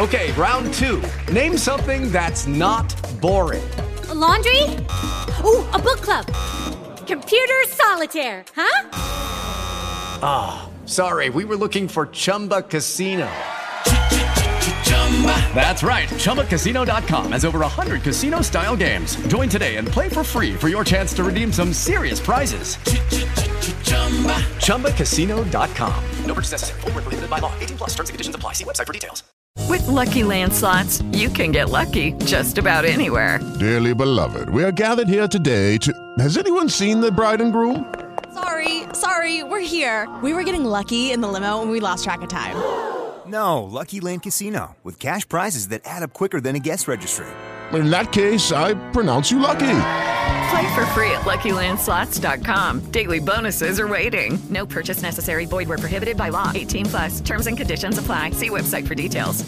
Okay, round 2. Name something that's not boring. A laundry? Ooh, a book club. Computer solitaire, huh? Ah, sorry, we were looking for Chumba Casino. That's right, ChumbaCasino.com has over 100 casino-style games. Join today and play for free for your chance to redeem some serious prizes. ChumbaCasino.com. No purchase necessary. Void where prohibited by law. 18+ terms and conditions apply. See website for details. With Lucky Land Slots, you can get lucky just about anywhere. Dearly beloved, we are gathered here today to... Has anyone seen the bride and groom? Sorry, we're here. We were getting lucky in the limo and we lost track of time. No, Lucky Land Casino, with cash prizes that add up quicker than a guest registry. In that case, I pronounce you lucky. Play for free at LuckyLandSlots.com. Daily bonuses are waiting. No purchase necessary. Void where prohibited by law. 18+. Terms and conditions apply. See website for details.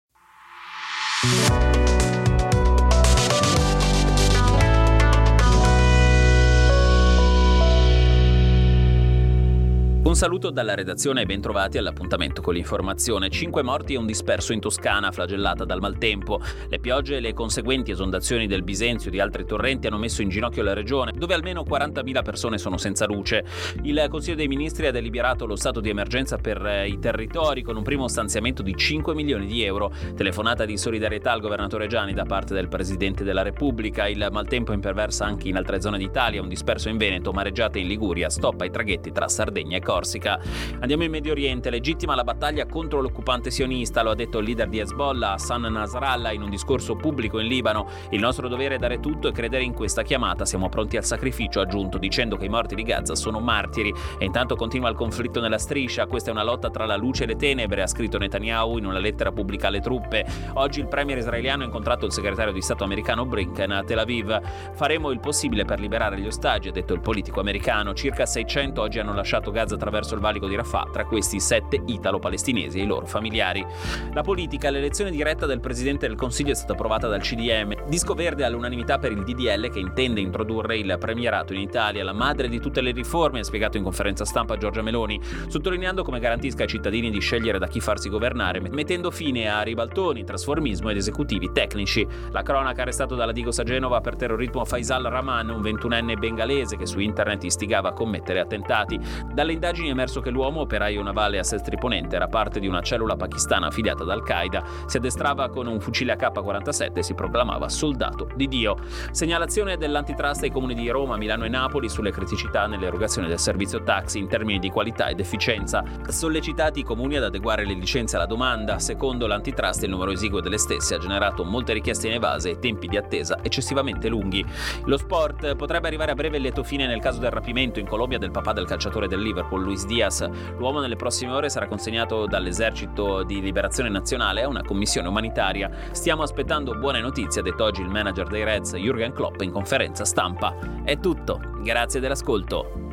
Un saluto dalla redazione e bentrovati all'appuntamento con l'informazione. 5 morti e un disperso in Toscana, flagellata dal maltempo. Le piogge e le conseguenti esondazioni del Bisenzio e di altri torrenti hanno messo in ginocchio la regione, dove almeno 40.000 persone sono senza luce. Il Consiglio dei Ministri ha deliberato lo stato di emergenza per i territori con un primo stanziamento di 5 milioni di euro. Telefonata di solidarietà al governatore Gianni da parte del Presidente della Repubblica. Il maltempo imperversa anche in altre zone d'Italia, un disperso in Veneto, mareggiate in Liguria, stop ai traghetti tra Sardegna e Corsica. Andiamo in Medio Oriente. Legittima la battaglia contro l'occupante sionista, lo ha detto il leader di Hezbollah, Hassan Nasrallah, in un discorso pubblico in Libano. Il nostro dovere è dare tutto e credere in questa chiamata. Siamo pronti al sacrificio, ha aggiunto, dicendo che i morti di Gaza sono martiri. E intanto continua il conflitto nella striscia. Questa è una lotta tra la luce e le tenebre, ha scritto Netanyahu in una lettera pubblicata alle truppe. Oggi il premier israeliano ha incontrato il segretario di Stato americano Blinken a Tel Aviv. Faremo il possibile per liberare gli ostaggi, ha detto il politico americano. Circa 600 oggi hanno lasciato Gaza attraverso il valico di Rafah, tra questi 7 italo-palestinesi e i loro familiari. La politica, l'elezione diretta del Presidente del Consiglio è stata approvata dal CDM. Disco verde all'unanimità per il DDL che intende introdurre il premierato in Italia, la madre di tutte le riforme, ha spiegato in conferenza stampa Giorgia Meloni, sottolineando come garantisca ai cittadini di scegliere da chi farsi governare, mettendo fine a ribaltoni, trasformismo ed esecutivi tecnici. La cronaca, arrestato dalla Digos a Genova per terrorismo Faisal Rahman, un 21enne bengalese che su internet istigava a commettere attentati. Dalle indagini è emerso che l'uomo, operaio navale a Sestri Ponente, era parte di una cellula pakistana affiliata ad Al-Qaeda, si addestrava con un fucile AK-47 e si proclamava soldato di Dio. Segnalazione dell'antitrust ai comuni di Roma, Milano e Napoli sulle criticità nell'erogazione del servizio taxi in termini di qualità ed efficienza. Sollecitati i comuni ad adeguare le licenze alla domanda. Secondo l'antitrust il numero esiguo delle stesse ha generato molte richieste inevase e tempi di attesa eccessivamente lunghi. Lo sport, potrebbe arrivare a breve il lieto fine nel caso del rapimento in Colombia del papà del calciatore del Liverpool, Luis Diaz. L'uomo nelle prossime ore sarà consegnato dall'esercito di liberazione nazionale a una commissione umanitaria. Stiamo aspettando buone notizie, ha detto oggi il manager dei Reds Jürgen Klopp in conferenza stampa. È tutto, grazie dell'ascolto.